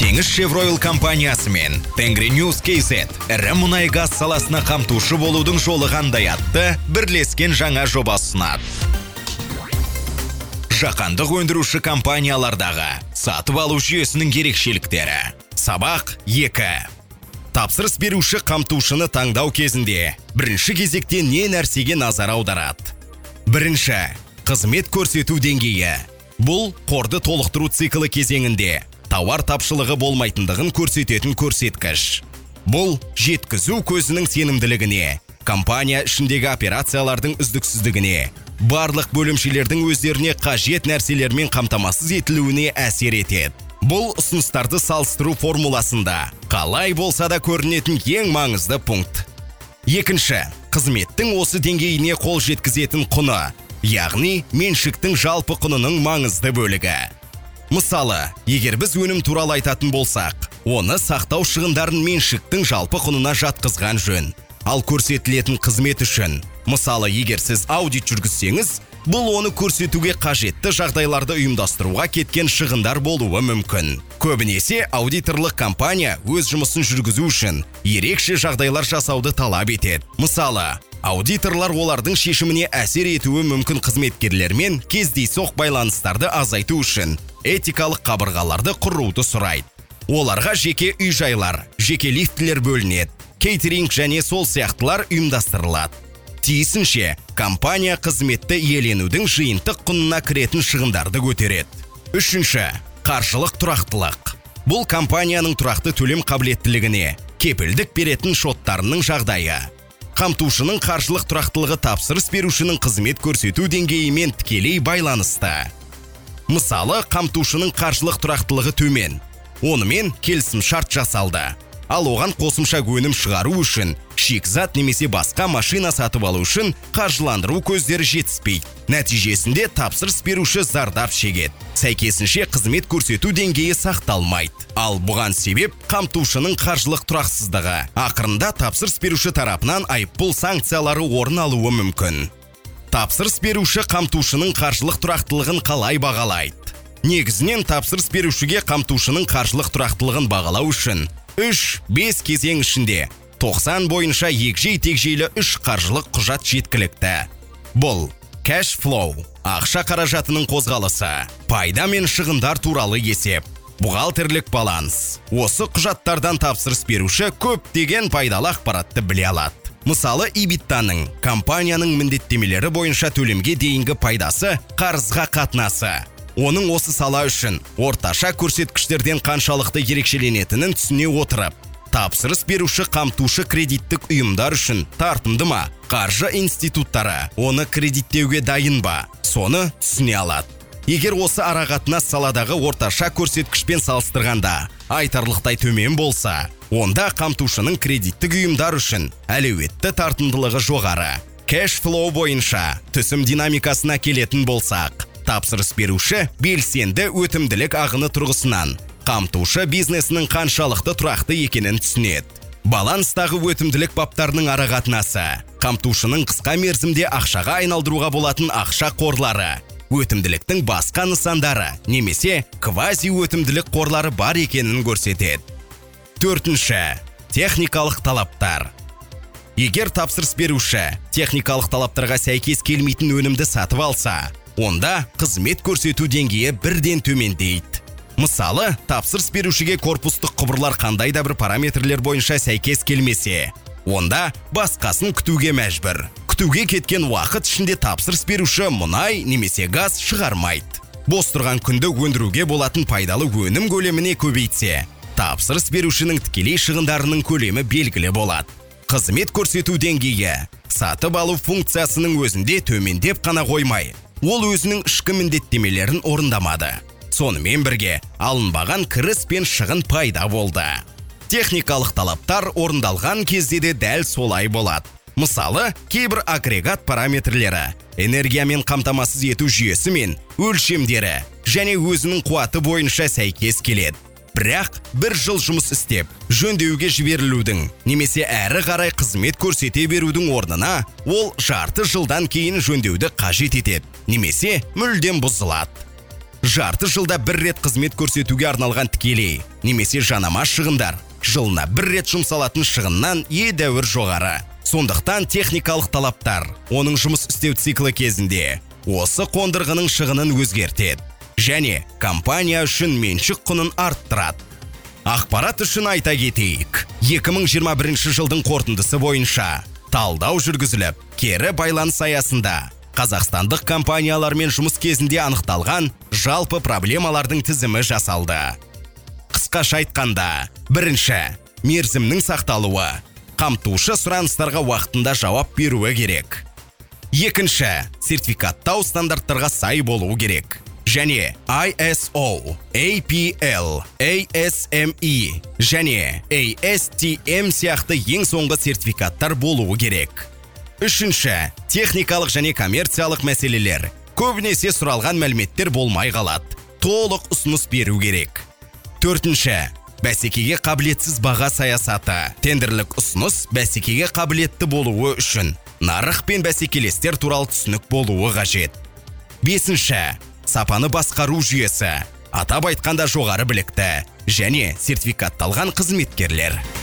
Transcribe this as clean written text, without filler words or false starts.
Теңіз Шевройл компаниясы мен Тенгриньюз KZ ірі мұнай газ саласына қамтушы болудың жолы қандай атты бірлескен жаңа жобасы ұсынады. Жаһандық өндіруші компаниялардағы сатып алу жүйесінің ерекшеліктері. Сабақ 2. Тапсырыс беруші қамтушыны таңдау кезінде бірінші кезекте не нәрсеге назар аударады? Бірінші, қызмет көрсету деңгейі. Бұл қорды толықтыру циклі кезеңінде тауар тапшылығы болмайтындығын көрсететін көрсеткіш. Бұл жеткізу көзінің сенімділігіне, компания ішіндегі операциялардың үздіксіздігіне, барлық бөлімшелердің өздеріне қажет нәрселермен қамтамасыз етілуіне әсер етеді. Бұл ұсыныстарды салыстыру формуласында қалай болса да көрінетін ең маңызды пункт. Екінші, қызметтің осы деңгейіне қол жеткізетін құны, яғни меншіктің жалпы құнының маңызды бөлігі. Мысалы, егер біз өнім туралы айтатын болсақ, оны сақтау шығындарын меншіктің жалпы құнына жатқызған жөн. Ал көрсетілетін қызмет үшін, мысалы, егер сіз аудит жүргізсеңіз, бұл оны көрсетуге қажетті жағдайларды ұйымдастыруға кеткен шығындар болуы мүмкін. Көбінесе аудиторлық компания өз жұмысын жүргізу үшін ерекше жағдайлар жасауды талап етеді. Мысалы, аудиторлар олардың шешіміне әсер етуі мүмкін қызметкерлермен кездейсоқ байланыстарды азайту үшін этикалық қабырғаларды құруды сұрайды. Оларға жеке үй-жайлар, жеке лифтілер бөлінеді, кейтеринг және сол сияқтылар ұйымдастырылады. Тиісінше, компания қызметті иеленудің жиынтық құнына кіретін шығындарды көтереді. Үшінші, қаржылық тұрақтылық. Бұл компанияның тұрақты төлем қабілеттілігіне, кепілдік беретін шоттарының жағдайы. Қамтушының қаржылық тұрақтылығы тапсырыс берушінің қызмет көрсету деңгейімен тікелей байланысты. Мысалы, қамтушының қаржылық тұрақтылығы төмен. Онымен келісім шарт жасалды. Ал оған қосымша өнім шығару үшін, шикізат немесе басқа машина сатып алу үшін қаржыландыру көздері жетіспейді. Нәтижесінде тапсырыс беруші зардап шегеді. Сәйкесінше қызмет көрсету деңгейі сақталмайды. Ал бұған себеп қамтушының қаржылық тұрақсыздығы. Ақырында тапсырыс беруші тарапынан айыппұл санкциялары орын алуы мүмкін. Тапсырыс беруші қамтушының қаржылық тұрақтылығын қалай бағалайды? Негізінен тапсырыс берушіге қамтушының қаржылық тұрақтылығын бағалау үшін 3-5 кезең ішінде 90 бойынша егжей-тегжейлі 3 қаржылық құжат жеткілікті. Бұл cash flow, ақша қаражатының қозғалысы, пайда мен шығындар туралы есеп, бухгалтерлік баланс. Осы құжаттардан тапсырыс беруші көптеген пайдалы ақпаратты біле алады. Мысалы, EBITDA-ның компанияның міндеттемелері бойынша төлемге дейінгі пайдасы, қарызға қатынасы. Оның осы сала үшін орташа көрсеткіштерден қаншалықты ерекшеленетінін түсіне отырып, тапсырыс беруші қамтушы кредиттік ұйымдар үшін тартымды ма, қаржы институттары оны кредиттеуге дайын ба, соны түсіне алады. Егер осы арақатынас саладағы орташа көрсеткішпен салыстырғанда айтарлықтай төмен болса, онда қамтушының кредиттік ұйымдар үшін әлеуетті тартымдылығы жоғары. Cash flow бойынша түсім динамикасына келетін болсақ, тапсырыс беруші белсенді өтімділік ағыны тұрғысынан қамтушы бизнесінің қаншалықты тұрақты екенін түсінеді. Баланстағы өтімділік баптарының арақатынасы, қамтушының қысқа мерзімде ақшаға айналдыруға болатын ақша қорлары, өтімділіктің басқа нысандары немесе квази өтімділік қорлары бар екенін көрсетеді. Төртінші, техникалық талаптар. Егер тапсырыс беруші техникалық талаптарға сәйкес келмейтін өнімді сатып алса, онда қызмет көрсету деңгейі бірден төмендейді. Мысалы, тапсырыс берушіге корпустық құбырлар қандай да бір параметрлер бойынша сәйкес келмесе, онда басқасын күтуге мәжбүр. Күтуге кеткен уақыт ішінде тапсырыс беруші мұнай немесе газ шығармайды. Бос тұрған күнді өндіруге болатын пайдалы өнім көлеміне көбейтсе, тапсырыс берушінің тікелей шығындарының көлемі белгілі болады. Қызмет көрсету деңгейі сатып алу функциясының өзінде төмендеп қана қоймай, ол өзінің ішкі міндеттемелерін орындамады. Сонымен бірге алынбаған кіріс пен шығын пайда болды. Техникалық талаптар орындалған кезде де дәл солай болады. Мысалы, кейбір агрегат параметрлері, энергиямен қамтамасыз ету жүйесі мен өлшемдері және өзінің қуаты бойынша сәйкес келеді. Бірақ бір жыл жұмыс істеп, жөндеуге жіберілудің немесе әрі қарай қызмет көрсете берудің орнына, ол жарты жылдан кейін жөндеуді қажет етеді, немесе мүлдем бұзылады. жарты жылда бір рет қызмет көрсетуге арналған тікелей немесе жанама шығындар жылына бір рет жұмсалатын шығыннан едәуір жоғары. Сондықтан техникалық талаптар оның жұмыс істеу циклі кезінде осы қондырғының шығынын өзгертеді және компания үшін меншік құнын арттырады. Ақпарат үшін айта кетейік, 2021 жылдың қорытындысы бойынша талдау жүргізіліп, кері байланыс аясында қазақстандық компаниялармен жұмыс кезінде анықталған жалпы проблемалардың тізімі жасалды. Қысқаша айтқанда, бірінші, мерзімнің сақталуы, қамтушы сұраныстарға уақытында жауап беруі керек. Екінші, сертификаттау стандарттарға сай болуы керек. Және ISO, APL, ASME және ASTM сияқты ең соңғы сертификаттар болуы керек. Үшінші, техникалық және коммерциялық мәселелер. Көбінесе сұралған мәліметтер болмай қалады. Толық ұсыныс беру керек. Төртінші, бәсекеге қабілетсіз баға саясаты. Тендерлік ұсыныс бәсекеге қабілетті болуы үшін нарық пен бәсекелестер туралы түсінік болуы қажет. Бесінші, сапаны басқару жүйесі. Атап айтқанда жоғары білікті және сертификатталған қызметкерлер.